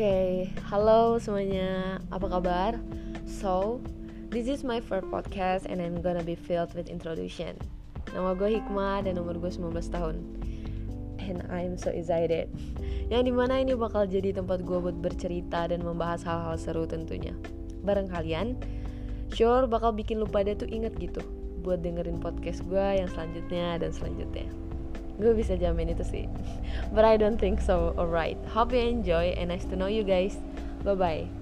Halo semuanya, apa kabar? So, this is my first podcast and I'm gonna be filled with introduction. Nama gue Hikmah dan umur gue 19 tahun. And I'm so excited. Yang dimana ini bakal jadi tempat gue buat bercerita dan membahas hal-hal seru tentunya. Bareng kalian, sure bakal bikin lu pada tuh inget gitu buat dengerin podcast gue yang selanjutnya dan selanjutnya. Gue bisa jamin itu sih. But I don't think so. Alright, hope you enjoy and nice to know you guys. Bye bye.